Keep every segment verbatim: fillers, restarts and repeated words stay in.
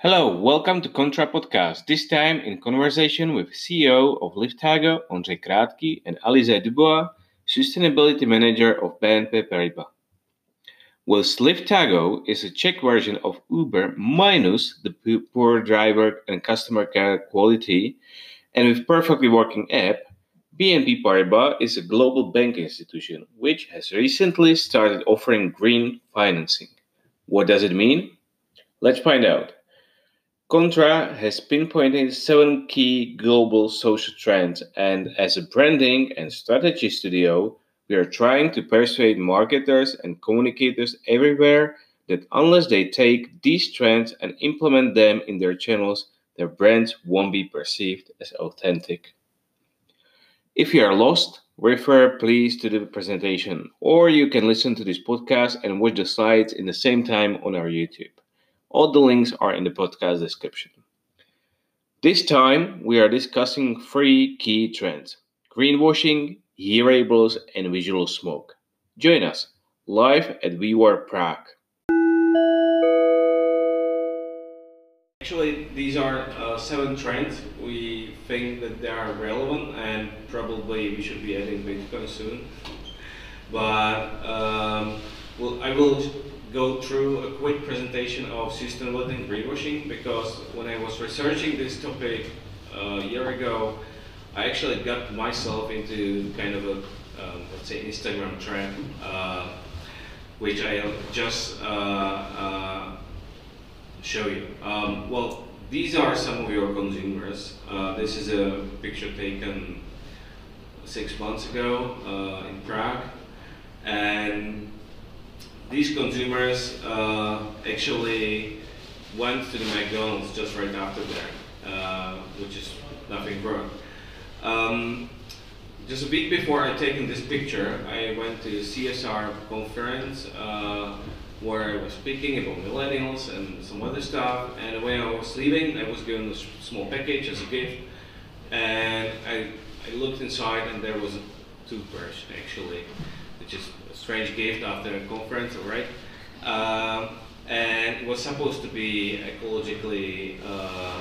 Hello, welcome to Contra Podcast. This time in conversation with C E O of Liftago, Ondřej Krátký, and Alize Dubois, Sustainability Manager of B N P Paribas. Whilst Liftago is a Czech version of Uber minus the poor driver and customer care quality, and with perfectly working app, B N P Paribas is a global banking institution which has recently started offering green financing. What does it mean? Let's find out. Contra has pinpointed seven key global social trends, and as a branding and strategy studio, we are trying to persuade marketers and communicators everywhere that unless they take these trends and implement them in their channels, their brands won't be perceived as authentic. If you are lost, refer please to the presentation, or you can listen to this podcast and watch the slides in the same time on our YouTube. All the links are in the podcast description. This time, we are discussing three key trends: greenwashing, hearables, and visual smoke. Join us live at WeWork Prague. Actually, these are uh, seven trends. We think that they are relevant and probably we should be adding Bitcoin soon. But um, well, I will go through a quick presentation of sustainability and greenwashing, because when I was researching this topic uh, a year ago, I actually got myself into kind of a, um, let's say, Instagram trap, uh, which I just uh, uh, show you. Um, well, these are some of your consumers. Uh, this is a picture taken six months ago uh, in Prague, and these consumers uh, actually went to the McDonald's just right after that, uh, which is nothing wrong. Um, just a week before I taken this picture, I went to a C S R conference uh, where I was speaking about millennials and some other stuff. And when I was leaving, I was given a small package as a gift, and I, I looked inside, and there was a toothbrush actually, which is a strange gift after a conference, alright? Um, and it was supposed to be ecologically uh,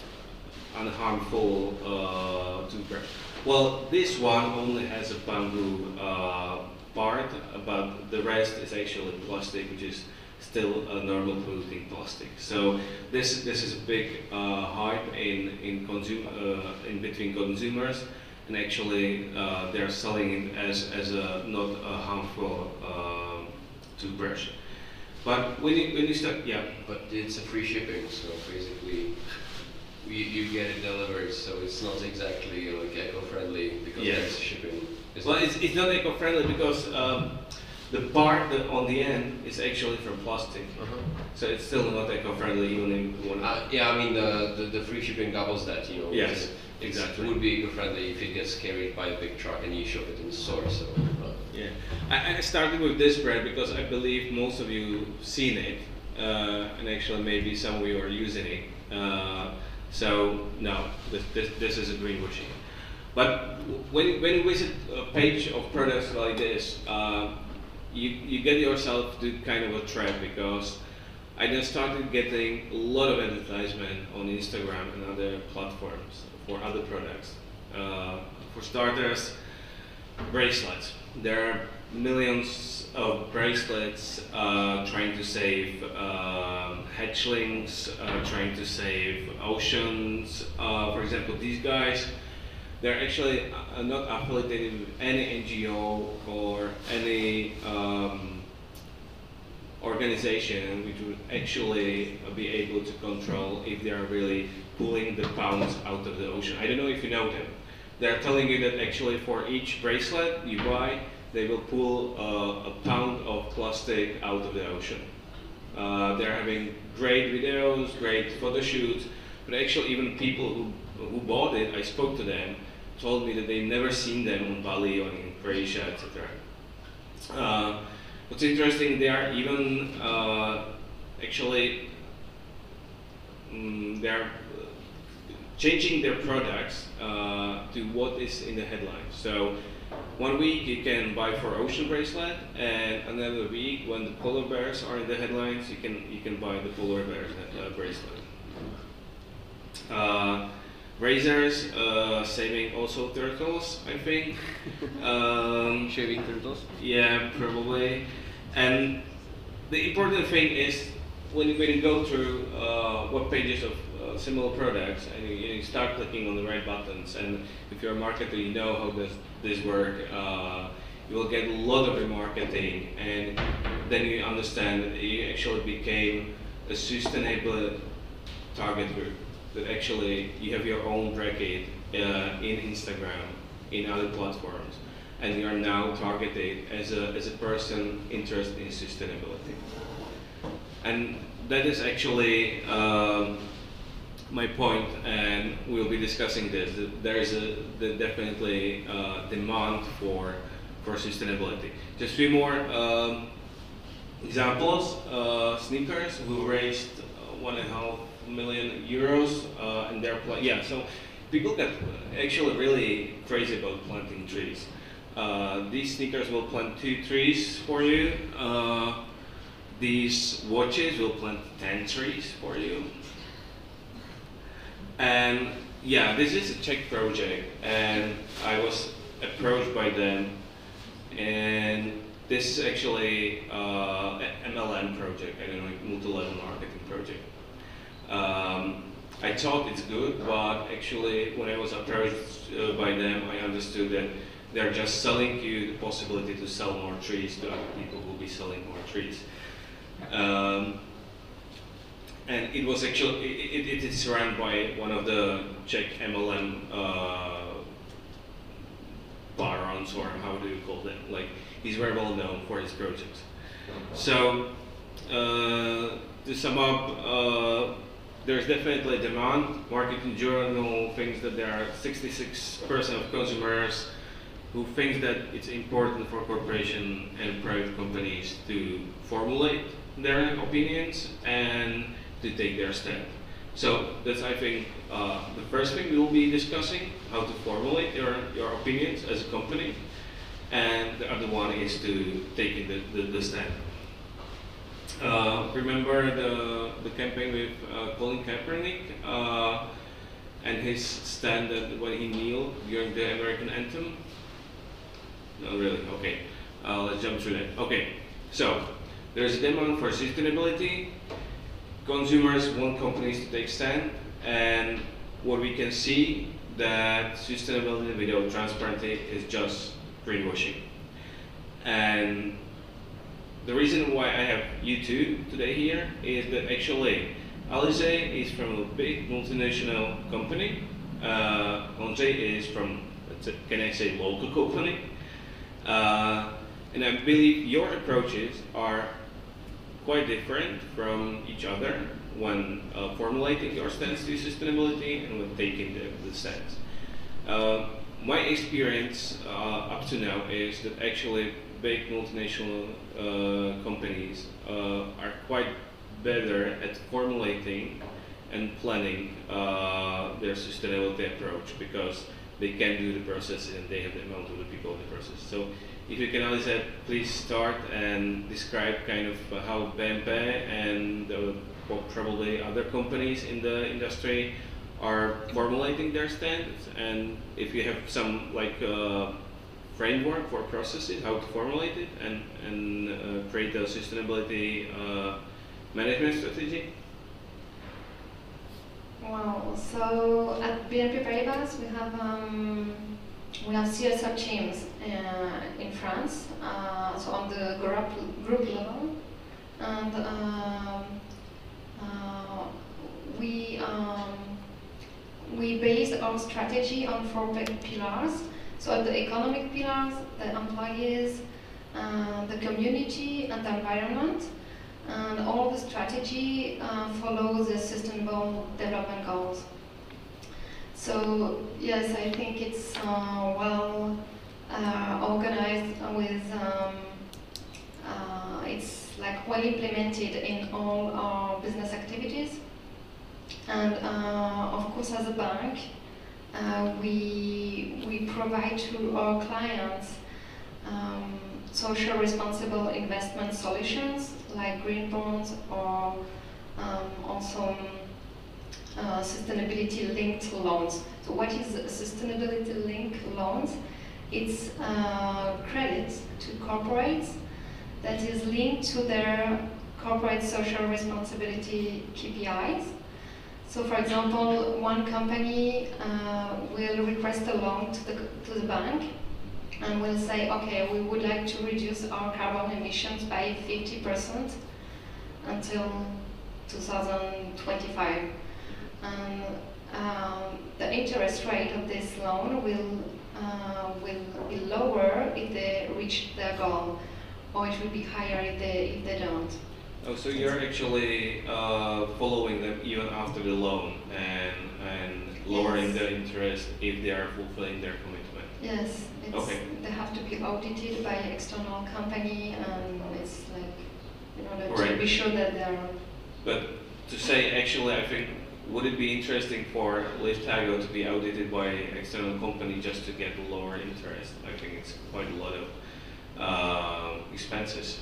unharmful uh, toothbrush. Well, this one only has a bamboo uh, part, but the rest is actually plastic, which is still a normal polluting plastic. So this this is a big uh, hype in in consumer uh, in between consumers. And actually, uh, they're selling it as, as a not a harmful uh, toothbrush. But when you, when you start, yeah. But it's a free shipping, so basically, you, you get it delivered, so it's not exactly like eco-friendly because Yes. it's shipping. Well, it's, it's not eco-friendly because um, the part that on the end is actually from plastic. Uh-huh. So it's still not eco-friendly even if you want to. Uh, yeah, I mean, the, the, the free shipping doubles that, you know. Yes. It's- Exactly. It would be eco-friendly if it gets carried by a big truck and you shop it in the store. So. Uh, Yeah, I, I started with this brand because I believe most of you seen it, uh, and actually maybe some of you are using it. Uh, so no, this, this, this is a greenwashing. But when, when you visit a page of products like this, uh, you, you get yourself to kind of a trap, because I then started getting a lot of advertisement on Instagram and other platforms for other products. Uh, for starters, bracelets. There are millions of bracelets uh, trying to save uh, hatchlings, uh, trying to save oceans. Uh, for example, these guys, they're actually uh, not affiliated with any N G O or any um, organization which would actually be able to control if they are really pulling the pounds out of the ocean. I don't know if you know them. They're telling you that actually for each bracelet you buy, they will pull uh, a pound of plastic out of the ocean. Uh, they're having great videos, great photo shoots, but actually even people who, who bought it, I spoke to them, told me that they've never seen them on Bali or in Croatia, et cetera. Uh, what's interesting, they are even uh, actually um, they're changing their products uh, to what is in the headlines. So one week you can buy for ocean bracelet, and another week when the polar bears are in the headlines, you can you can buy the polar bears uh, bracelet. Uh, razors, uh, saving also turtles, I think. um, Shaving turtles. yeah, probably. And the important thing is when you, when you go through uh, web pages of uh, similar products and you, you start clicking on the right buttons, and if you're a marketer, you know how does this work. Uh, you will get a lot of remarketing, and then you understand that you actually became a sustainable target group. That actually you have your own bracket uh, in Instagram, in other platforms, and you are now targeted as a as a person interested in sustainability. And that is actually um, my point, and we'll be discussing this. That there is a the definitely uh, demand for for sustainability. Just three more um, examples. Uh, sneakers, who raised uh, one and a half million euros, uh, and they're pla- yeah. So people get actually really crazy about planting trees. Uh, these sneakers will plant two trees for you. Uh, these watches will plant ten trees for you. And yeah, this is a Czech project, and I was approached by them, and this is actually uh, an M L M project, I don't know, multi-level marketing project. Um, I thought it's good, but actually when I was approached uh, by them, I understood that they're just selling you the possibility to sell more trees to other people who will be selling more trees. Um, and it was actually, it, it, it is run by one of the Czech M L M uh, barons, or how do you call them? Like, he's very well known for his projects. So, uh, to sum up, uh, there's definitely demand. Marketing Journal thinks that there are sixty-six percent of consumers who think that it's important for corporations and private companies to formulate their opinions and to take their stand. So that's, I think, uh, the first thing we will be discussing, how to formulate your, your opinions as a company. And the other one is to take the, the, the stand. Uh, remember the, the campaign with uh, Colin Kaepernick uh, and his stand that when he kneeled during the American anthem? No, really, okay. Uh, let's jump through that. Okay, so there's a demand for sustainability. Consumers want companies to take stand, and what we can see that sustainability without transparency is just greenwashing. And the reason why I have you two today here is that actually Alizé is from a big multinational company. Uh, Ondřej is from, can I say, local company. Uh, and I believe your approaches are quite different from each other when uh, formulating your stance to sustainability and when taking the, the stance. Uh, my experience uh, up to now is that actually big multinational uh, companies uh, are quite better at formulating and planning uh, their sustainability approach, because they can do the process and they have the amount of the people in the process. So if you can, Alizé, please start and describe kind of uh, how B M P and uh, probably other companies in the industry are formulating their standards, and if you have some like uh, framework for processes, how to formulate it and, and uh, create a sustainability uh, management strategy. Well, so at B N P Paribas we have um, we have C S R teams uh, in France, uh, so on the group group level, and um, uh, we um, we base our strategy on four big pillars. So at the economic pillars, the employees, uh, the community, and the environment. And all the strategy uh, follows the sustainable development goals. So yes, I think it's uh, well uh, organized with, um, uh, it's like well implemented in all our business activities. And uh, of course, as a bank, uh, we, we provide to our clients um, social responsible investment solutions like green bonds, or um, also uh, sustainability-linked loans. So what is sustainability-linked loans? It's uh, credit to corporates that is linked to their corporate social responsibility K P Is. So for example, one company uh, will request a loan to the, to the bank and will say, okay, we would like to reduce our carbon emissions by fifty percent until two thousand twenty-five. And um, the interest rate of this loan will, uh, will be lower if they reach their goal, or it will be higher if they, if they don't. Oh, so you're actually uh, following them even after the loan and, and lowering Yes. the interest if they are fulfilling their commitment. Yes, it's, Okay. they have to be audited by external company, and it's like in order to Right. be sure that they're. But to say, actually, I think, would it be interesting for Liftago to be audited by external company just to get the lower interest? I think it's quite a lot of uh, expenses.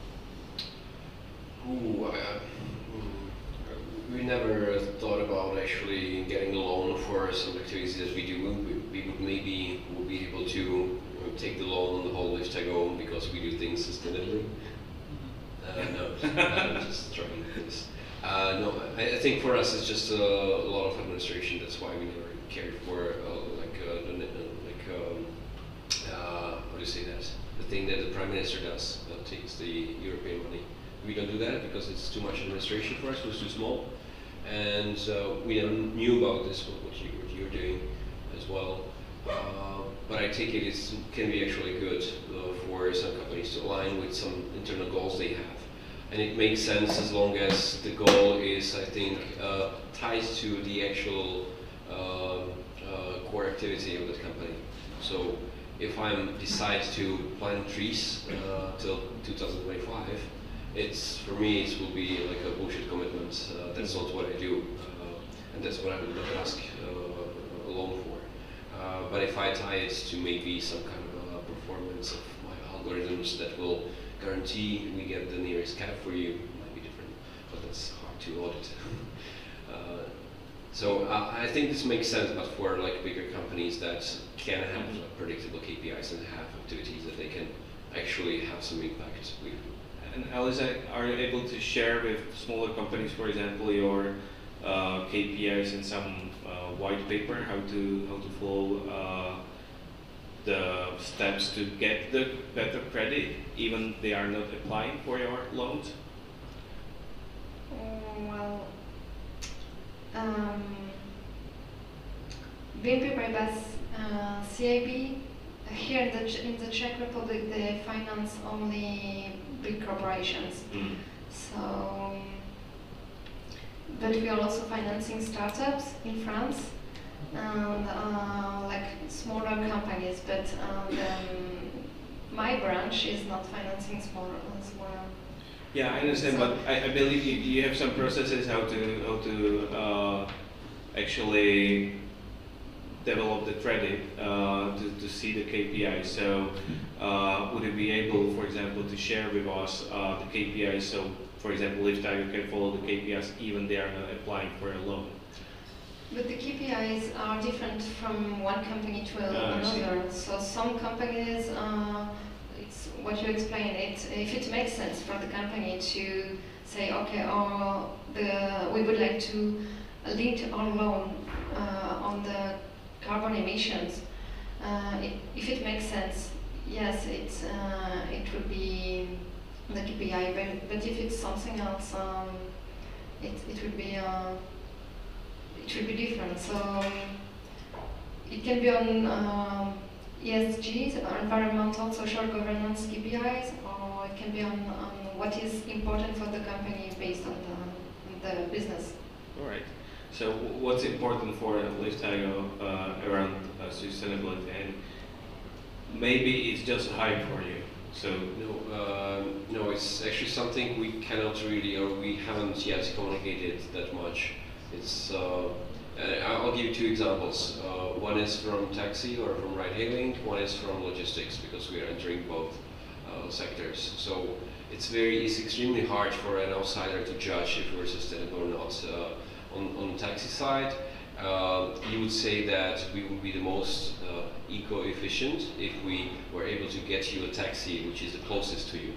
Ooh, I, uh, mm, we never thought about actually getting a loan for some activities that we do. We, we would maybe would be able to you know, take the loan on the whole Liftago because we do things sustainably. Uh, no, I'm just trying this. Uh, no, I, I think for us it's just a, a lot of administration. That's why we never cared for uh, like uh, the, like um, uh, how do you say that? The thing that the prime minister does, uh, takes the European money. We don't do that because it's too much administration for us. It was too small, and uh, we never knew about this. What, what, you, what you're doing as well. Uh, but I take it it can be actually good uh, for some companies to align with some internal goals they have. And it makes sense as long as the goal is, I think, uh, tied to the actual uh, uh, core activity of the company. So if I decide to plant trees uh, till two thousand twenty-five, it's for me it will be like a bullshit commitment. Uh, that's not what I do, uh, and that's what I would not ask uh, a loan for. Uh, but if I tie it to maybe some kind of uh, performance of my algorithms that will guarantee we get the nearest cap for you, it might be different, but that's hard to audit. uh, so uh, I think this makes sense, but for like bigger companies that can have uh, predictable K P Is and have activities that they can actually have some impact with. And Aliza, are you able to share with smaller companies, for example, your uh, K P Is in some uh, white paper, how to how to follow uh, the steps to get the better credit, even they are not applying for your loans? Mm, well, um, B N P Paribas uh, C I B here in the Ch in the Czech Republic they finance only big corporations. Mm. So, but we are also financing startups in France and uh, like smaller companies. But um, the, my branch is not financing smaller. smaller. Yeah, I understand, So- but I, I believe you, you have some processes how to how to uh, actually develop the credit uh, to, to see the K P I. So uh, would you be able, for example, to share with us uh, the K P I? So, for example, Liftago can follow the K P Is even they are not applying for a loan. But the K P Is are different from one company to Ah, I see. another. So some companies, uh, it's what you explained. It if it makes sense for the company to say, okay, or the we would like to link our loan uh, on the carbon emissions. Uh, it, if it makes sense, yes, it's uh, it would be the K P I. But, but if it's something else, um, it it would be. Uh, It should be different. So it can be on um, E S G, so environmental, social governance K P Is, or it can be on, on what is important for the company based on the, on the business. All right. So w- what's important for Liftago uh, around uh, sustainability? And maybe it's just hype for you. So No, uh, no, it's actually something we cannot really, or we haven't yet communicated that much. It's, uh, uh, I'll give you two examples. Uh, one is from taxi or from ride-hailing, one is from logistics, because we are entering both uh, sectors. So it's very, it's extremely hard for an outsider to judge if we're sustainable or not. Uh, on, on the taxi side, uh, you would say that we would be the most uh, eco-efficient if we were able to get you a taxi which is the closest to you.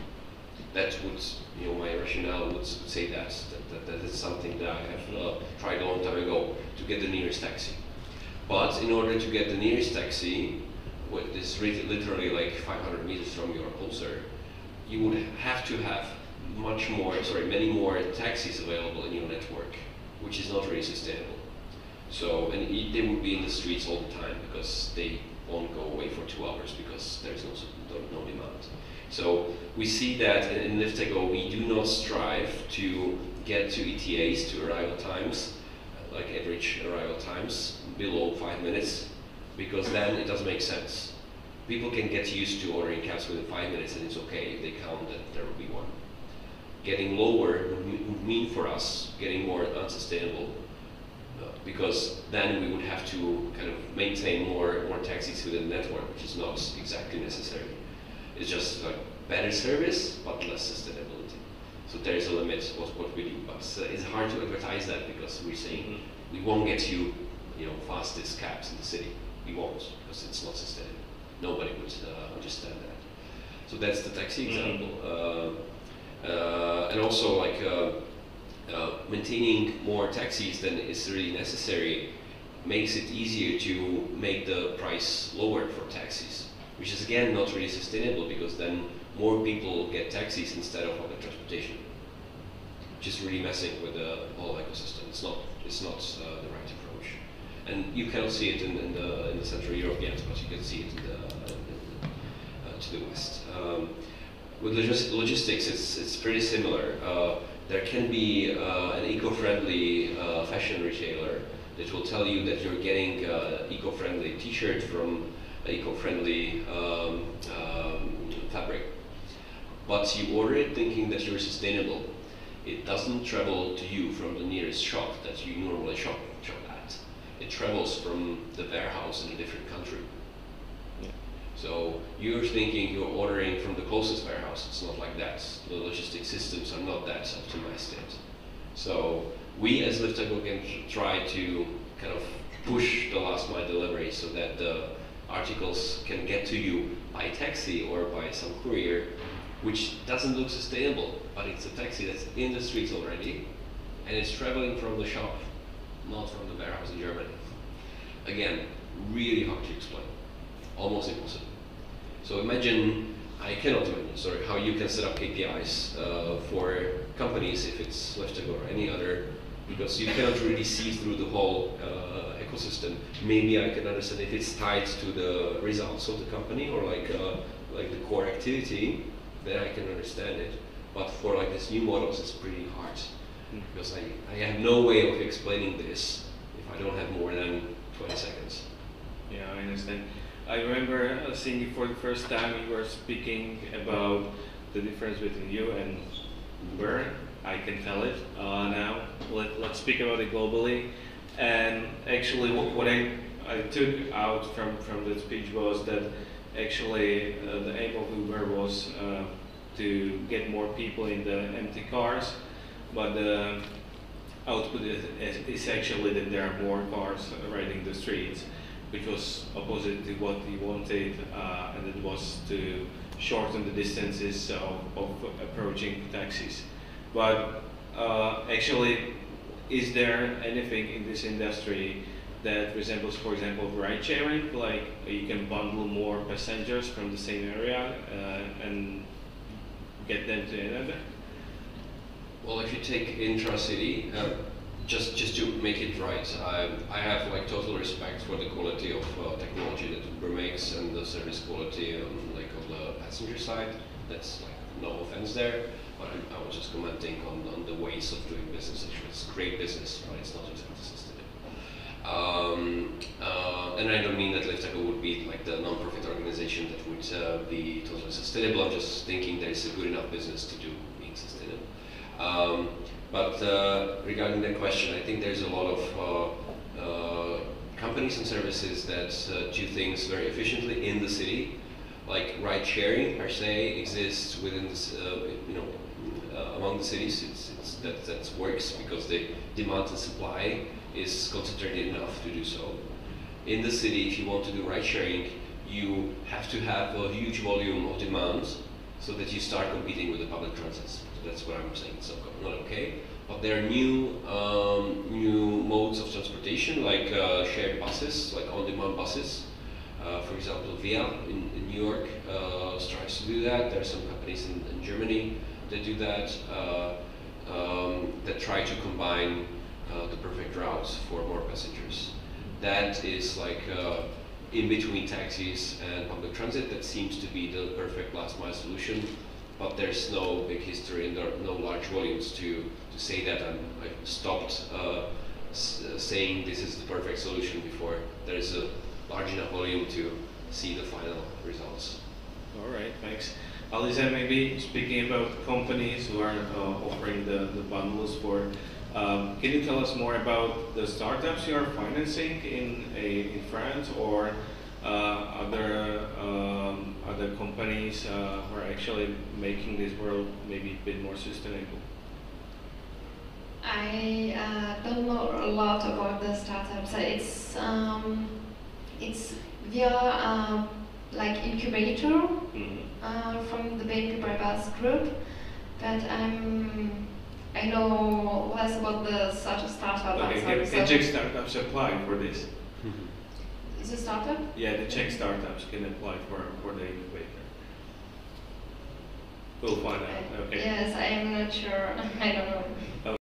That would, you know, my rationale would say that, that, that, that is something that I have uh, tried a long time ago, to get the nearest taxi. But in order to get the nearest taxi, what is literally like five hundred meters from your closer, you would have to have much more, sorry, many more taxis available in your network, which is not really sustainable. So, and it, they would be in the streets all the time because they won't go away for two hours because there's no, no, no demand. So we see that in, in Liftago we do not strive to get to E T As, to arrival times, like average arrival times, below five minutes, because then it doesn't make sense. People can get used to ordering cabs within five minutes and it's okay if they count that there will be one. Getting lower would mean for us getting more unsustainable, uh, because then we would have to kind of maintain more, more taxis within the network, which is not exactly necessary. It's just like better service, but less sustainability. So there is a limit what, what we do, but uh, it's hard to advertise that because we're saying mm-hmm. we won't get you, you know, fastest cabs in the city. We won't, because it's not sustainable. Nobody would uh, understand that. So that's the taxi example. Mm-hmm. uh, uh, and also like uh, uh, maintaining more taxis than is really necessary makes it easier to make the price lower for taxis, which is again not really sustainable because then more people get taxis instead of public transportation, which is really messing with the whole ecosystem. It's not, it's not uh, the right approach. And you cannot see it in, in, the, in the Central Europe yet, but you can see it in the, in the, uh, to the west. Um, with logis logistics, it's, it's pretty similar. Uh, there can be uh, an eco-friendly uh, fashion retailer that will tell you that you're getting uh, eco-friendly t-shirt from eco-friendly um, um, fabric. But you order it thinking that you're sustainable. It doesn't travel to you from the nearest shop that you normally shop, shop at. It travels from the warehouse in a different country. Yeah. So you're thinking you're ordering from the closest warehouse. It's not like that. The logistic systems are not that optimized yet. So we as Liftago can try to kind of push the last mile delivery so that the articles can get to you by taxi or by some courier, which doesn't look sustainable, but it's a taxi that's in the streets already, and it's traveling from the shop, not from the warehouse in Germany. Again, really hard to explain, almost impossible. So imagine, I cannot imagine, sorry, how you can set up K P Is uh, for companies if it's Liftago or any other, because you cannot really see through the whole uh, ecosystem. Maybe I can understand if it's tied to the results of the company or like uh, like the core activity, then I can understand it. But for like these new models, it's pretty hard mm. because I, I have no way of explaining this if I don't have more than twenty seconds. Yeah, I understand. I remember uh, seeing you for the first time. You were speaking about the difference between you and Uber. I can tell it uh, now. Let, let's speak about it globally. And actually, what, what I, I took out from, from the speech was that actually uh, the aim of Uber was uh, to get more people in the empty cars, but the output is, is actually that there are more cars riding the streets, which was opposite to what we wanted, uh, and it was to shorten the distances of, of approaching taxis. But uh, actually, is there anything in this industry that resembles, for example, ride sharing? Like you can bundle more passengers from the same area uh, and get them to another? Well, if you take intra-city, uh, just just to make it right, I, I have like total respect for the quality of uh, technology that Uber makes and the service quality um, like on the passenger side. That's like no offense there. But I was just commenting on, on the ways of doing business. It's great business, but it's not exactly sustainable. Um, uh, and I don't mean that Liftago would be like the non-profit organization that would uh, be totally sustainable. I'm just thinking there is a good enough business to do being sustainable. Um, but uh, regarding that question, I think there's a lot of uh, uh, companies and services that uh, do things very efficiently in the city. Like ride sharing per se exists within this, uh, you know, uh, among the cities, it's, it's, that, that works because the demand and supply is concentrated enough to do so. In the city, if you want to do ride sharing, you have to have a huge volume of demand so that you start competing with the public transits. So that's what I'm saying. It's not okay. But there are new um, new modes of transportation, like uh, shared buses, like on-demand buses. Uh, for example, Via in, in New York uh, tries to do that. There are some companies in, in Germany that do that, uh, um, that try to combine uh, the perfect routes for more passengers. That is like uh, in between taxis and public transit. That seems to be the perfect last mile solution, but there's no big history and there are no large volumes to, to say that. I'm, I've stopped uh, s saying this is the perfect solution before there is a large enough volume to see the final results. All right, thanks. Alisa, maybe speaking about companies who are uh, offering the, the bundles for, um, can you tell us more about the startups you are financing in, a, in France, or uh, other, um, other companies uh, who are actually making this world maybe a bit more sustainable? I uh, don't know a lot about the startups. It's um, it's via uh, like incubator Mm-hmm. uh, from the B N P Paribas group, but um, I know less about the such a startup. Okay, can, so can Czech startups apply for this? Is a startup? Yeah, the Czech startups can apply for, for the incubator. We'll find out, okay. Yes, I am not sure. I don't know.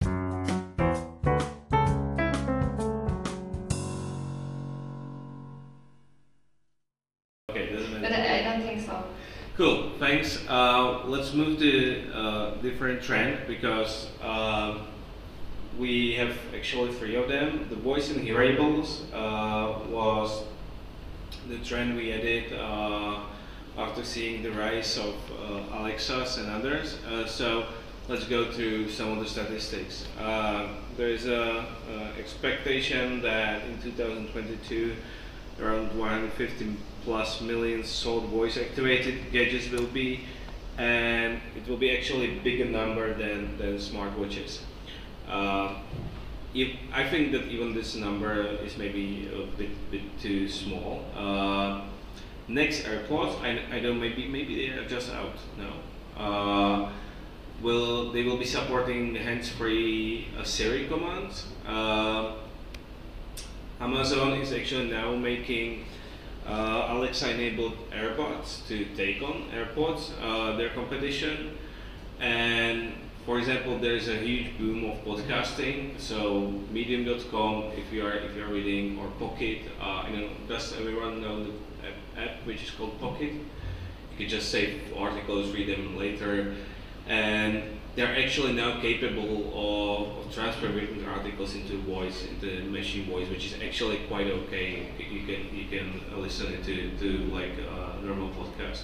Okay, doesn't matter. But I, I don't think so. Cool, thanks. Uh, let's move to uh, different trend, because uh, we have actually three of them. The voice and hearables uh, was the trend we added uh, after seeing the rise of uh, Alexas and others. Uh, so let's go through some of the statistics. Uh, there is a, a expectation that in two thousand twenty-two around one hundred fifty plus million sold voice activated gadgets will be, and it will be actually a bigger number than, than smartwatches. Uh, if, I think that even this number is maybe a bit, bit too small. Uh, next AirPods, I, I don't, maybe maybe they are just out now. Uh, will they will be supporting hands-free uh, Siri commands. Uh, Amazon is actually now making uh, Alexa-enabled AirPods to take on AirPods, uh, their competition. And for example, there is a huge boom of podcasting. So Medium dot com, if you are if you are reading, or Pocket, uh, you know, does everyone know the app, app which is called Pocket? You can just save articles, read them later, and they're actually now capable of, of transferring articles into voice, into machine voice, which is actually quite okay. You can you can listen to to like a normal podcast.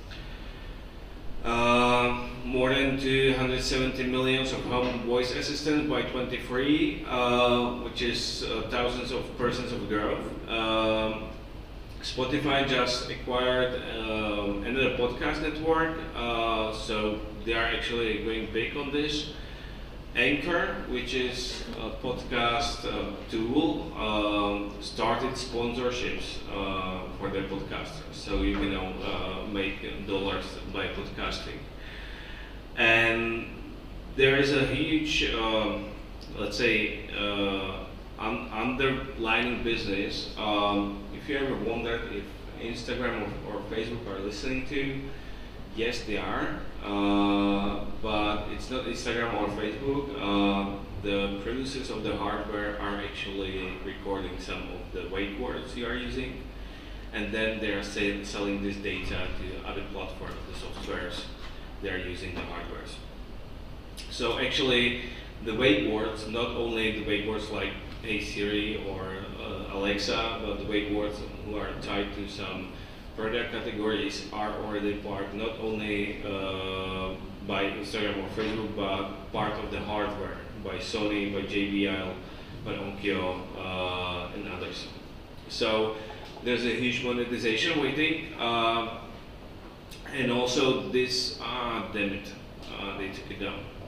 Uh, more than two hundred seventy million of home voice assistants by twenty-three, uh, which is uh, thousands of persons of growth. Um, Spotify just acquired um, another podcast network, uh, so they are actually going big on this. Anchor, which is a podcast uh, tool, um, started sponsorships uh, for their podcasters, so you can uh, make dollars by podcasting. And there is a huge, um, let's say, uh, un underlining business. Um, if you ever wondered if Instagram or, or Facebook are listening to, yes, they are, uh, but it's not Instagram or Facebook. Uh, the producers of the hardware are actually recording some of the wake words you are using, and then they are say, selling this data to other platforms, the softwares they are using, the hardwares. So actually, the wake words, not only the wake words like Hey Siri or uh, Alexa, but the wake words who are tied to some product categories are already part not only uh, by Instagram or Facebook, but part of the hardware by Sony, by J B L, by Onkyo, uh, and others. So there's a huge monetization waiting, uh, and also this, ah, damn it, uh, they took it down.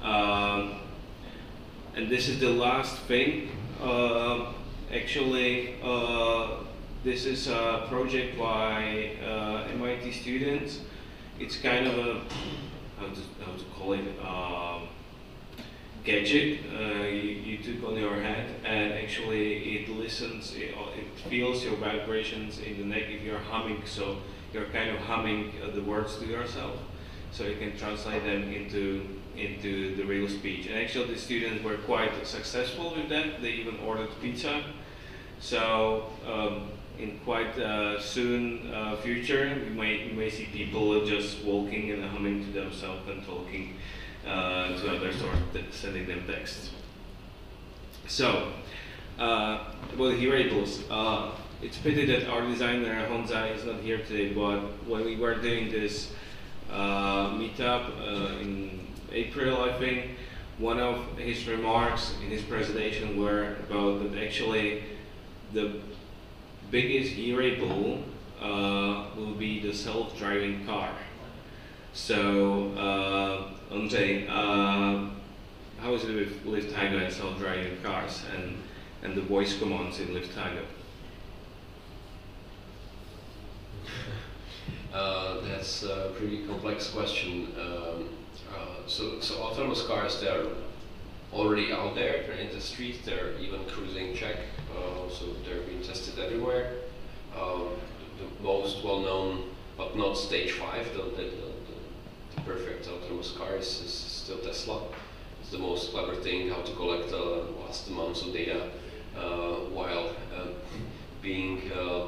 Um, and this is the last thing. Uh, actually, uh, this is a project by uh, M I T students. It's kind of a, how to, how to call it, um, gadget uh, you, you took on your head, and actually it listens, it, it feels your vibrations in the neck if you're humming, so you're kind of humming uh, the words to yourself, so you can translate them into into the real speech. And actually the students were quite successful with that. They even ordered pizza. So um, in quite uh, soon uh, future, we may, you may see people just walking and humming to themselves and talking uh, to others or sending them text. So, uh, about hearables, uh, it's pity that our designer Honza is not here today, but when we were doing this uh, meetup uh, in April, I think, one of his remarks in his presentation were about that actually the biggest hearable uh, will be the self-driving car. So, uh, Andrzej, uh, how is it with Liftago and self-driving cars and, and the voice commands in Liftago? Uh, that's a pretty complex question. Um, uh, so, so autonomous cars, they're already out there, they're in the street, they're even cruising check, uh, so they're being tested everywhere. Um, the, the most well-known, but not stage five, the, the, the, the perfect autonomous car is, is still Tesla. It's the most clever thing, how to collect uh, vast amounts of data uh, while uh, being uh,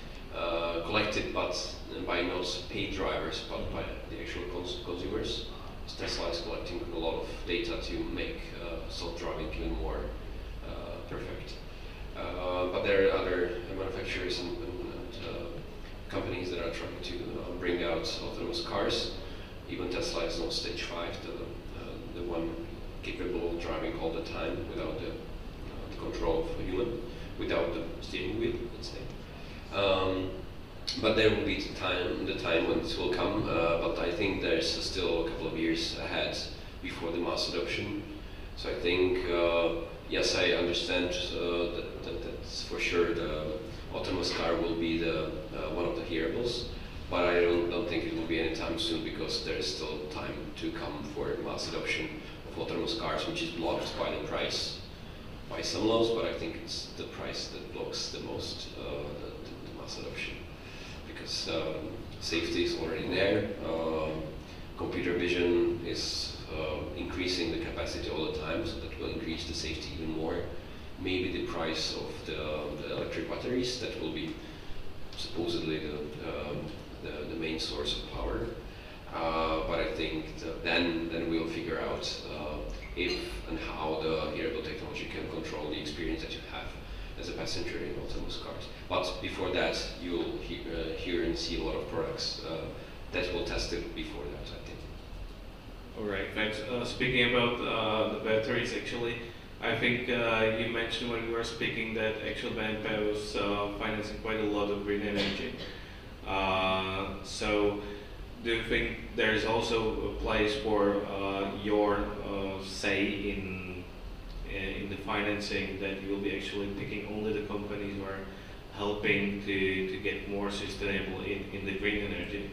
uh, collected, but by not paid drivers, but by the actual cons consumers. Tesla is collecting a lot of data to make uh, self-driving even more uh, perfect. Uh, but there are other manufacturers and, and, and uh, companies that are trying to uh, bring out autonomous cars. Even Tesla is not stage five, the, uh, the one capable of driving all the time without the, uh, the control of a human, without the steering wheel, let's say. Um, But there will be the time, the time when it will come, uh, but I think there's still a couple of years ahead before the mass adoption. So I think, uh, yes, I understand uh, that, that that's for sure the autonomous car will be the uh, one of the hearables, but I don't, don't think it will be anytime soon because there is still time to come for mass adoption of autonomous cars, which is blocked by the price, by some laws, but I think it's the price that blocks the most uh, the, the, the mass adoption. Because um, safety is already there, um, computer vision is uh, increasing the capacity all the time, so that will increase the safety even more. Maybe the price of the, the electric batteries, that will be supposedly the, um, the, the main source of power. Uh, but I think that then, then we'll figure out uh, if and how the hearable technology can control the experience that you have as a passenger in autonomous cars. But before that, you'll he uh, hear and see a lot of products uh, that will test it before that, I think. All right, thanks. Uh, speaking about uh, the batteries, actually, I think uh, you mentioned when we were speaking that actually B N P was uh, financing quite a lot of green energy. Uh, so, do you think there is also a place for uh, your uh, say in in the financing, that you will be actually picking only the companies who are helping to, to get more sustainable in, in the green energy?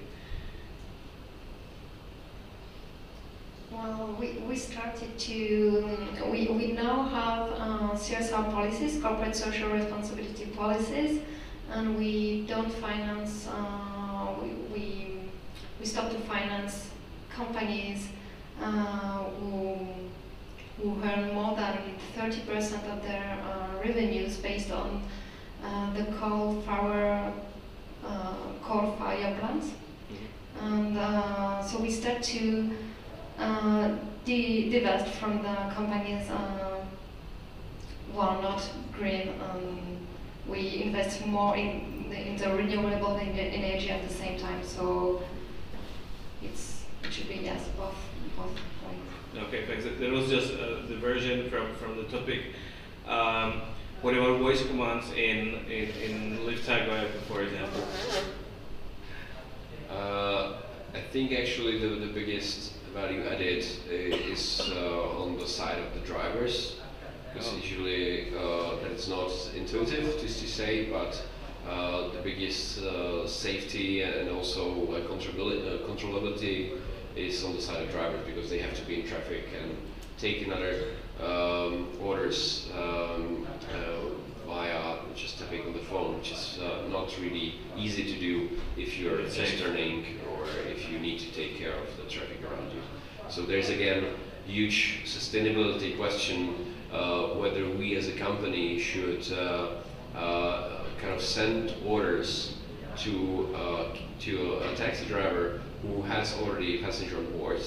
Well, we, we started to, we, we now have uh, C S R policies, corporate social responsibility policies, and we don't finance, uh, we, we, we stop to finance companies uh, who who earn more than thirty percent of their uh, revenues based on uh, the coal fire, uh, coal fire plants. Mm-hmm. And uh, so we start to uh, de divest from the companies uh, who are not green. Um, we invest more in the, in the renewable energy at the same time. So it's, it should be, yes, both, both ways. Okay, thanks. That was just a diversion from, from the topic. Um, what about voice commands in, in, in Liftago, for example? Uh, I think actually the, the biggest value added uh, is uh, on the side of the drivers, because Oh. usually uh, that's not intuitive just to say, but uh, the biggest uh, safety and also uh, controllability, uh, controllability is on the side of drivers, because they have to be in traffic and take another um, orders um, uh, via just tapping on the phone, which is uh, not really easy to do if you're just turning or if you need to take care of the traffic around you. So there's again huge sustainability question uh, whether we as a company should uh, uh, kind of send orders to uh, to a taxi driver who has already a passenger on board.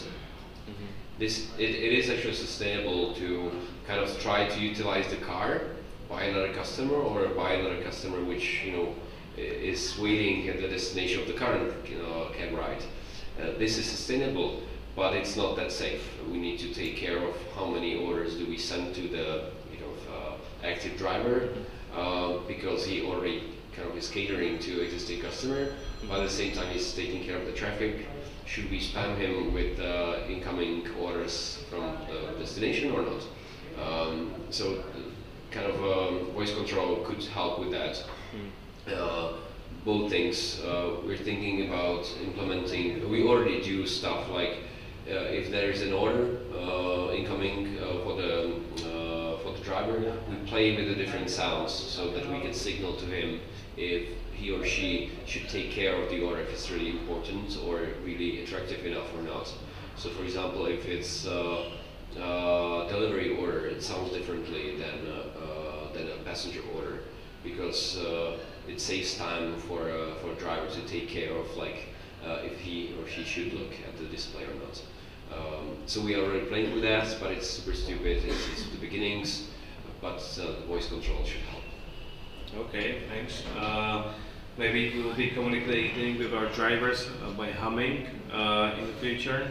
This it, it is actually sustainable to kind of try to utilize the car by another customer or by another customer which you know i- is waiting at the destination of the current you know cab ride. Uh, this is sustainable, but it's not that safe. We need to take care of how many orders do we send to the you know uh, active driver uh, because he already kind of is catering to existing customer. But at the same time, he's taking care of the traffic. Should we spam him with uh, incoming orders from the destination or not? Um, so, uh, kind of um, voice control could help with that. Uh, both things. Uh, we're thinking about implementing. We already do stuff like uh, if there is an order uh, incoming uh, for the uh, for the driver, we play with the different sounds so that we can signal to him if he or she should take care of the order, if it's really important or really attractive enough or not. So for example, if it's uh, uh, delivery order, it sounds differently than, uh, uh, than a passenger order, because uh, it saves time for, uh, for a driver to take care of like uh, if he or she should look at the display or not. Um, so we are already playing with that, but it's super stupid, it's, it's the beginnings, but uh, the voice control should help. Okay, thanks. Uh, maybe we will be communicating with our drivers uh, by humming uh, in the future.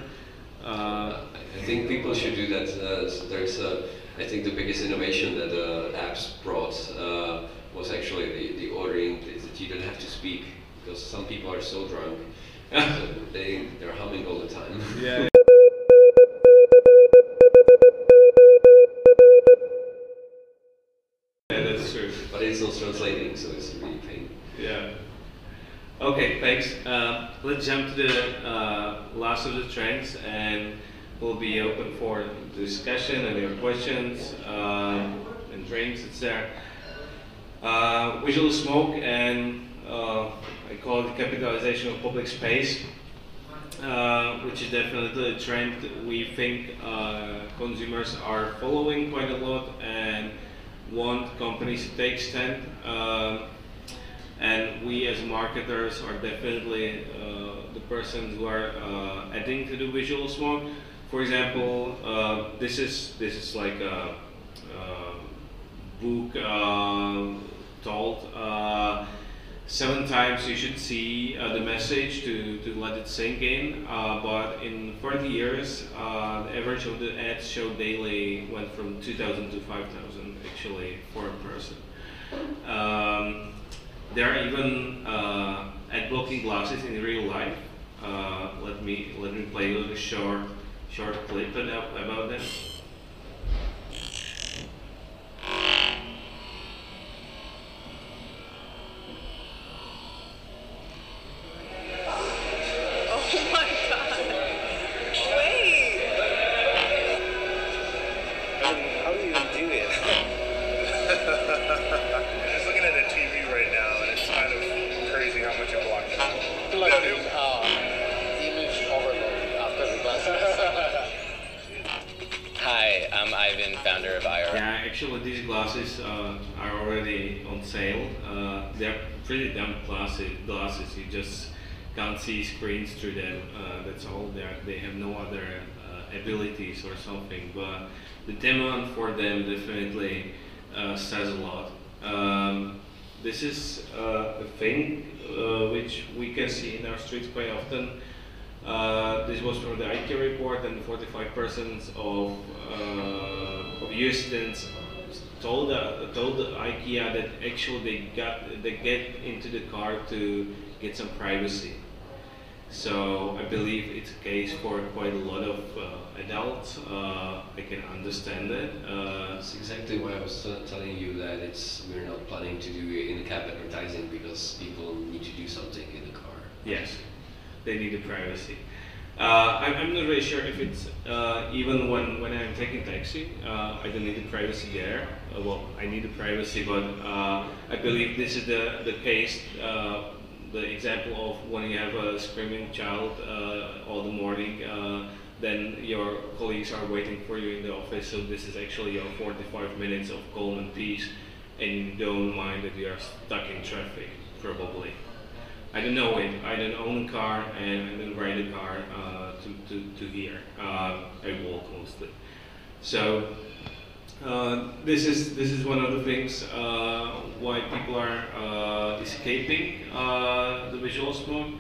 Uh, I think people should do that. Uh, so there's, uh, I think, the biggest innovation that uh, apps brought uh, was actually the, the ordering that you don't have to speak, because some people are so drunk that they they're humming all the time. yeah. Yeah, that's true. But it's not translating, so it's really pain. Yeah. Okay, thanks. Uh, let's jump to the uh, last of the trends, and we'll be open for discussion and your questions uh, and drinks, et cetera. Uh, visual smoke and uh, I call it capitalization of public space, uh, which is definitely a trend that we think uh, consumers are following quite a lot and want companies to take stand. Uh, and we as marketers are definitely uh, the persons who are uh, adding to the visual smoke. For example, uh, this is this is like a, a book uh, told uh, seven times you should see uh, the message to, to let it sink in. Uh, but in thirty years, uh, the average of the ads shown daily went from two thousand to five thousand actually for a person. Um, there are even uh, ad blocking glasses in real life. Uh, let me let me play a little short short clip about about them. Oh my god! Wait! I mean, how do you even do it? I'm just looking at a T V right now, and it's kind of crazy how much it blocks out. Like an uh, image overload after the glasses. Hi, I'm Ivan, founder of I R. Yeah, actually these glasses uh, are already on sale. Uh, they're pretty dumb glasses. Glasses you just can't see screens through them. Uh, that's all. They they have no other uh, abilities or something. But the demand for them definitely uh, says a lot. Um, this is uh, a thing uh, which we can see in our streets quite often. Uh, this was from the IKEA report, and forty-five percent of, uh, of U S students told uh, told IKEA that actually they got they get into the car to get some privacy. So I believe it's a case for quite a lot of uh, adults. Uh, I can understand it. Uh, That's exactly why I was t- telling you that it's we're not planning to do in-cab advertising because people need to do something in the car. yes, they need the privacy. Uh, I'm, I'm not really sure if it's uh, even when, when I'm taking taxi, uh, I don't need the privacy there. Uh, well, I need the privacy, but uh, I believe this is the, the case, uh, the example of when you have a screaming child uh, all the morning, uh, then your colleagues are waiting for you in the office, so this is actually your forty-five minutes of calm and peace, and you don't mind that you are stuck in traffic, probably. I don't know it. I don't own a car and I don't ride a car uh, to, to, to here. Uh, I walk mostly. So uh, this is this is one of the things uh, why people are uh, escaping uh, the visual smoke.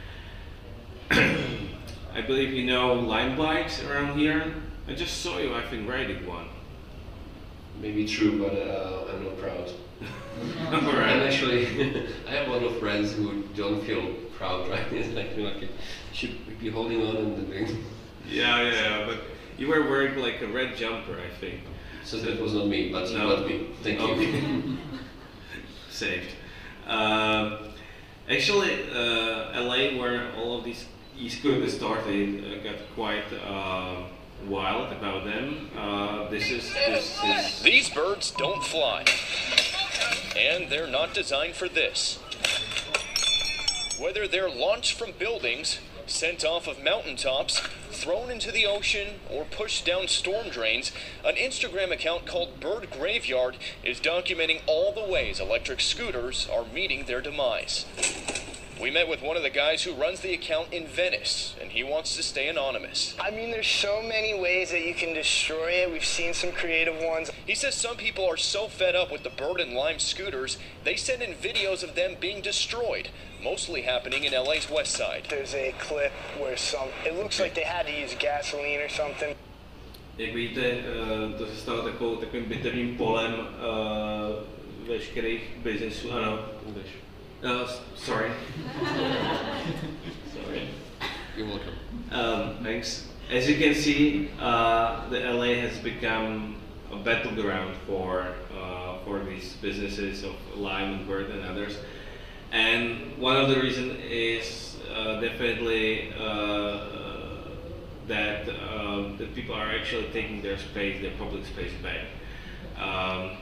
I believe you know Lime bikes around here. I just saw you, I think, riding one. Maybe true, but uh, I'm not proud. Alright. And actually, I have a lot of friends who don't feel proud, right? It's like, like you should be holding on and doing. Yeah, yeah, yeah, but you were wearing like a red jumper, I think. So that was not me, but No. not me. Thank Okay. you. Saved. Um, actually, uh, L A, where all of these e-scooters started, uh, got quite uh, wild about them. Uh, this is this is. These birds don't fly. And they're not designed for this. Whether they're launched from buildings, sent off of mountaintops, thrown into the ocean, or pushed down storm drains, an Instagram account called Bird Graveyard is documenting all the ways electric scooters are meeting their demise. We met with one of the guys who runs the account in Venice, and he wants to stay anonymous. I mean, there's so many ways that you can destroy it. We've seen some creative ones. He says some people are so fed up with the Bird and Lime scooters, they send in videos of them being destroyed, mostly happening in L A's West Side. There's a clip where some, it looks like they had to use gasoline or something. Jak vidíte, uh, to se stalo takovou, takovým bitevním polem uh, veškerých biznesů. Ano. Uh, sorry. Sorry. You're welcome. Um, thanks. As you can see, uh, the L A has become a battleground for uh, for these businesses of Lime and Bird and others. And one of the reasons is uh, definitely uh, that uh, that people are actually taking their space, their public space back. Um,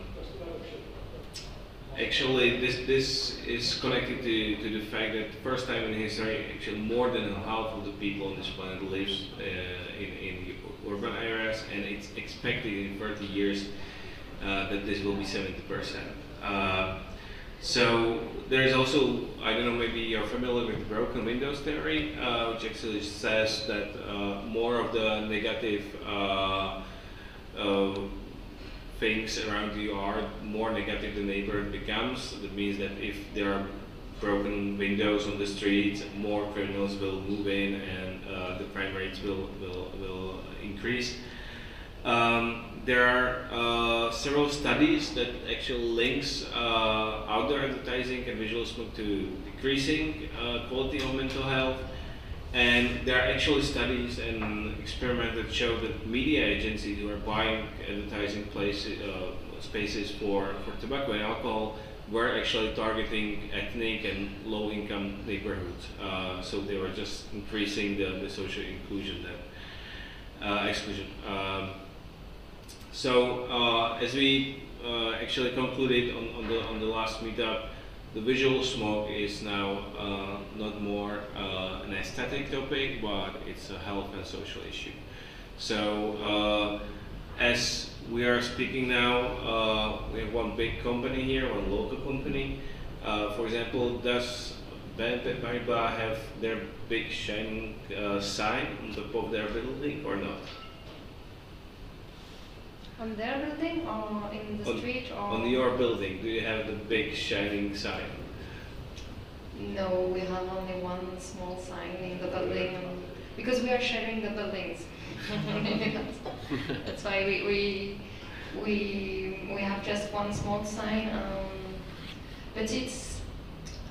Actually, this this is connected to, to the fact that the first time in history, actually more than half of the people on this planet lives uh, in, in urban areas, and it's expected in thirty years uh, that this will be seventy percent. Uh, so there is also, I don't know, maybe you're familiar with the broken windows theory, uh, which actually says that uh, more of the negative uh, uh, things around you are, more negative the neighborhood becomes. That means that if there are broken windows on the streets, more criminals will move in, and uh, the crime rates will will, will increase. Um, there are uh, several studies that actually links uh, outdoor advertising and visual smoke to decreasing uh, quality of mental health. And there are actually studies and experiments that show that media agencies who are buying advertising places, uh, spaces for, for tobacco and alcohol were actually targeting ethnic and low-income neighborhoods. Uh, so they were just increasing the, the social inclusion, that uh, exclusion. Um, so uh, as we uh, actually concluded on, on the on the last meetup, the visual smoke is now uh, not more uh, an aesthetic topic, but it's a health and social issue. So uh, as we are speaking now, uh, we have one big company here, one local company. Uh, for example, does B N P Paribas have their big shining uh, sign on top of their building or not? On their building or in the On, street or? on your building, do you have the big shining sign? No, we have only one small sign in the building because we are sharing the buildings. that's, that's why we, we we we have just one small sign. Um, but it's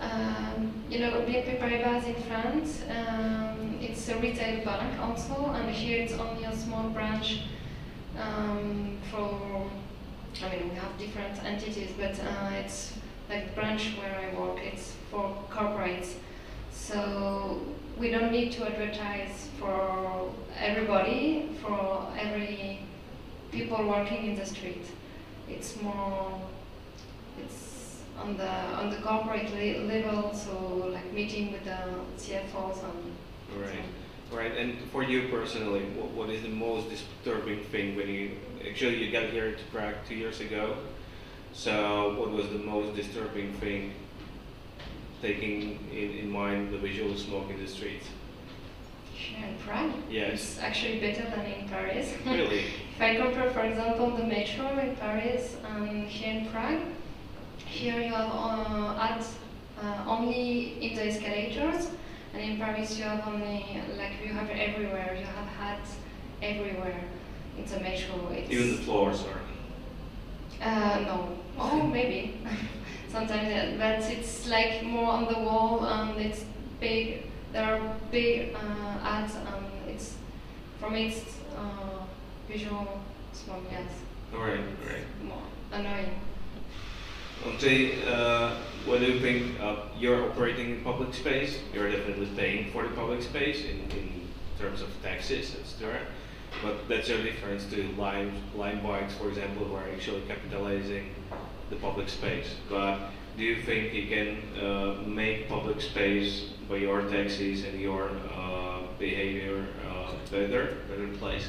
Um, you know, B N P Paribas in France, um, it's a retail bank also, and here it's only a small branch um, for, I mean, we have different entities, but uh, it's like the branch where I work, it's for corporates. So we don't need to advertise for everybody, for every people working in the street. It's more, it's on the on the corporate le level, so like meeting with the C F Os and. Right, right. And for you personally, what, what is the most disturbing thing when you actually you got here to Prague two years ago? So what was the most disturbing thing, taking in, in mind the visual smoke in the streets? Here in Prague? Yes. It's actually better than in Paris. Really? If I compare, for example, the metro in Paris and here in Prague, here you have uh, ads uh, only in the escalators, and in Paris you have only, like you have everywhere, you have ads everywhere in the metro. It's Even the floors are. Uh, no. Oh, maybe. Sometimes, yeah, but it's like more on the wall, and it's big. There are big uh, ads, and it's for me it's uh, visual smoke. Yes. All right, all right. More annoying. Andre, uh, what do you think? Uh, you're operating in public space. You're definitely paying for the public space in, in terms of taxes, et cetera. But that's a difference to line, line bikes, for example, who are actually capitalizing the public space. But do you think you can uh, make public space by your taxis and your uh, behavior uh, better, better place?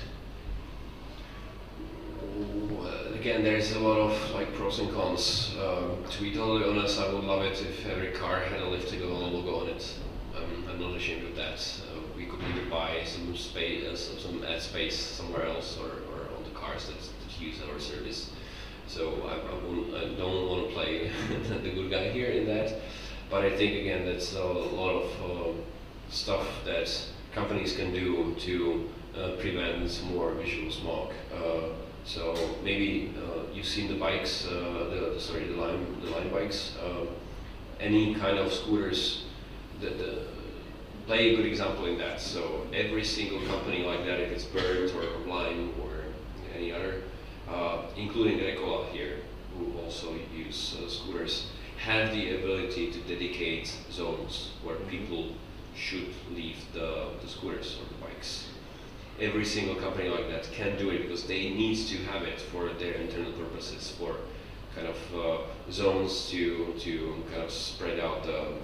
Well, again, there's a lot of like pros and cons. Um, to be totally honest, I would love it if every car had a Liftigo logo on it. Um, I'm not ashamed of that. Uh, we could either buy some space, uh, some ad space somewhere else, or, or on the cars that, that use our service. So I, I, won't, I don't want to play the good guy here in that. But I think again that's a lot of uh, stuff that companies can do to uh, prevent more visual smog. Uh, so maybe uh, you've seen the bikes, uh, the sorry, the line, the line bikes. Uh, any kind of scooters. The, the, play a good example in that. So every single company like that, if it's Bird or Lime or any other, uh, including Rekola here, who also use uh, scooters, have the ability to dedicate zones where people should leave the, the scooters or the bikes. Every single company like that can do it because they need to have it for their internal purposes, for kind of uh, zones to to kind of spread out the, uh,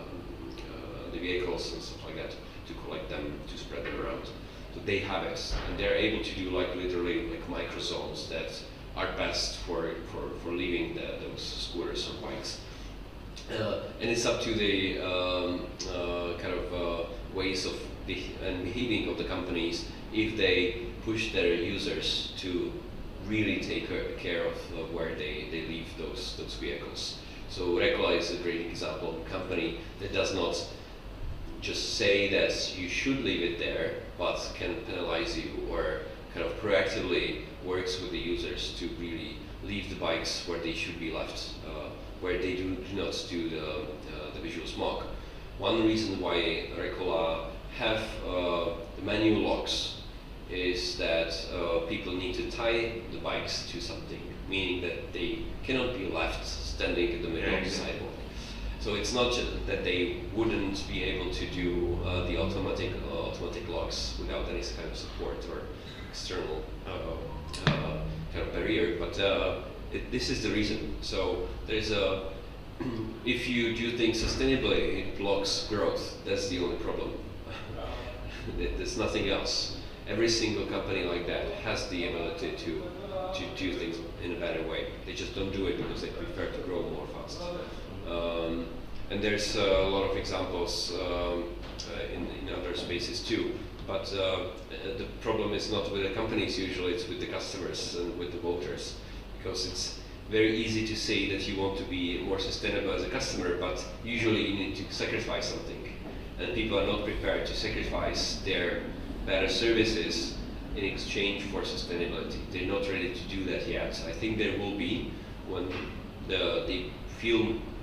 uh, the vehicles and stuff like that, to collect them, to spread them around. So they have it, and they're able to do like literally like micro zones that are best for for, for leaving the, those scooters or bikes. Uh, and it's up to the um, uh, kind of uh, ways of be and behaving of the companies if they push their users to really take care of uh, where they, they leave those those vehicles. So Rekola is a great example of a company that does not just say that you should leave it there, but can penalize you or kind of proactively works with the users to really leave the bikes where they should be left, uh, where they do, do not do the, uh, the visual smog. One reason why Rekola have uh, the manual locks is that uh, people need to tie the bikes to something, meaning that they cannot be left standing in the middle of the sidewalk. So it's not just that they wouldn't be able to do uh, the automatic uh, automatic locks without any kind of support or external uh, uh, kind of barrier, but uh, it, this is the reason. So there's a if you do things sustainably, it blocks growth. That's the only problem. There's nothing else. Every single company like that has the ability to to do things in a better way. They just don't do it because they prefer to grow more fast. Um, and there's uh, a lot of examples um, uh, in, in other spaces too. But uh, the problem is not with the companies usually, it's with the customers and with the voters. Because it's very easy to say that you want to be more sustainable as a customer, but usually you need to sacrifice something. And people are not prepared to sacrifice their better services in exchange for sustainability. They're not ready to do that yet. I think there will be when the, they feel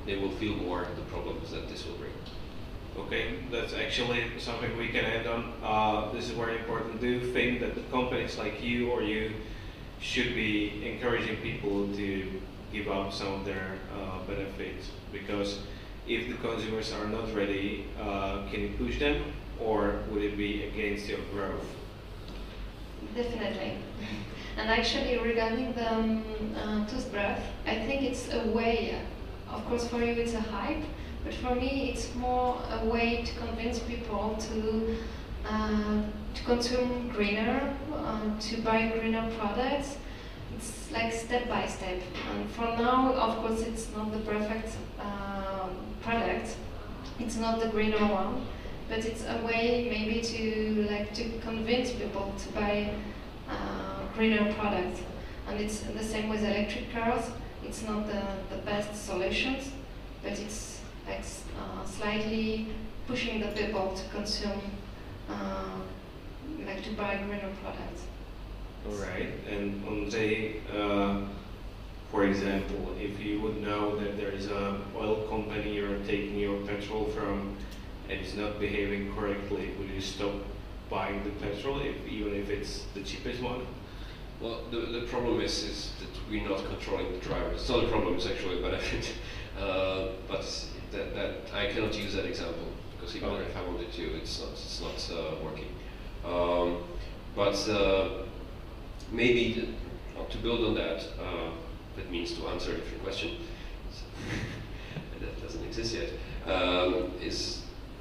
they will feel more the problems that this will bring. Okay, that's actually something we can end on. Uh, this is very important. Do you think that the companies like you or you should be encouraging people to give up some of their uh, benefits? Because if the consumers are not ready, uh, can you push them, or would it be against your growth? Definitely. And actually, regarding the um, uh, toothbrush, I think it's a way. Of course, for you it's a hype, but for me it's more a way to convince people to uh, to consume greener, uh, to buy greener products. It's like step by step. And for now, of course, it's not the perfect uh, product. It's not the greener one, but it's a way maybe to like to convince people to buy uh, greener products. And it's the same with electric cars. It's not the, the best solutions, but it's like uh, slightly pushing the people to consume, uh, like to buy greener products. All right, and Ondřej, uh, for example, if you would know that there is a oil company you're taking your petrol from and it's not behaving correctly, would you stop buying the petrol, if, even if it's the cheapest one? Well, the, the problem is, is that we're not controlling the driver. It's not a problem, it's actually a benefit. Uh, but that, that I cannot use that example, because even Okay. if I wanted to, it's not, it's not uh, working. Um, but uh, maybe the, uh, to build on that, uh, that means to answer a different question, that doesn't exist yet, um, is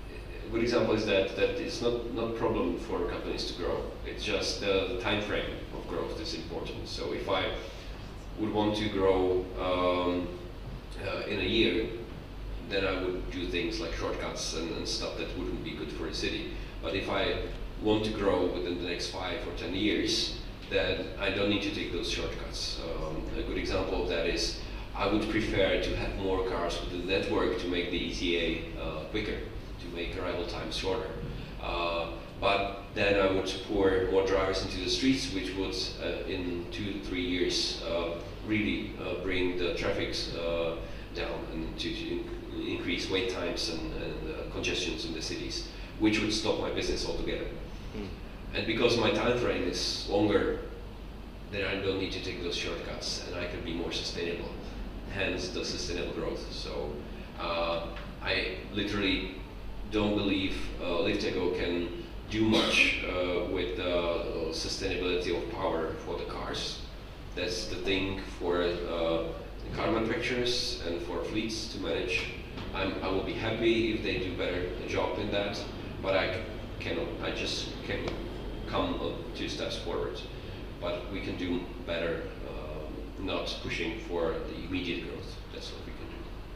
a good example is that, that it's not, not a problem for companies to grow. It's just uh, the time frame of growth is important. So if I would want to grow um, uh, in a year, then I would do things like shortcuts and, and stuff that wouldn't be good for the city. But if I want to grow within the next five or ten years, then I don't need to take those shortcuts. Um, a good example of that is I would prefer to have more cars within the network to make the E T A uh, quicker, to make arrival times shorter. Uh, but then I would pour more drivers into the streets, which would, uh, in two to three years, uh, really uh, bring the traffic uh, down and to, to in increase wait times and, and uh, congestions in the cities, which would stop my business altogether. Mm. And because my time frame is longer, then I don't need to take those shortcuts, and I can be more sustainable. Hence the sustainable growth. So uh, I literally don't believe uh, Liftego can do much uh, with the uh, sustainability of power for the cars. That's the thing for uh, car manufacturers and for fleets to manage. I'm, I will be happy if they do better job in that, but I cannot. I just can come two steps forward. But we can do better, uh, not pushing for the immediate growth. That's what we can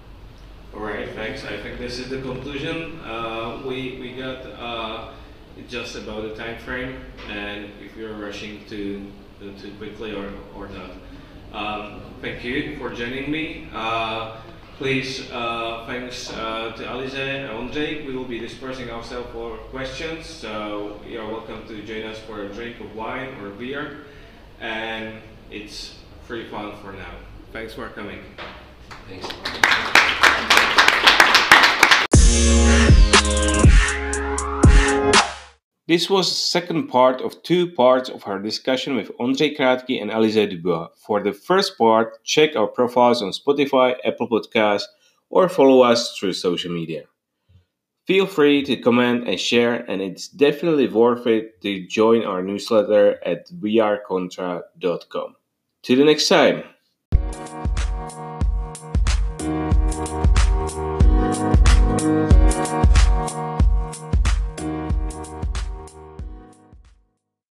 do. All right, thanks. I think this is the conclusion. Uh, we we got uh, just about the time frame, and if you're rushing to uh, too quickly or or not. Um, thank you for joining me. Uh, please, uh, thanks uh, to Alize and Ondřej. We will be dispersing ourselves for questions, so you are welcome to join us for a drink of wine or beer, and it's free fun for now. Thanks for coming. Thanks. This was the second part of two parts of our discussion with Ondřej Krátký and Alize Dubois. For the first part, check our profiles on Spotify, Apple Podcasts, or follow us through social media. Feel free to comment and share, and it's definitely worth it to join our newsletter at we are contra dot com. Till the next time!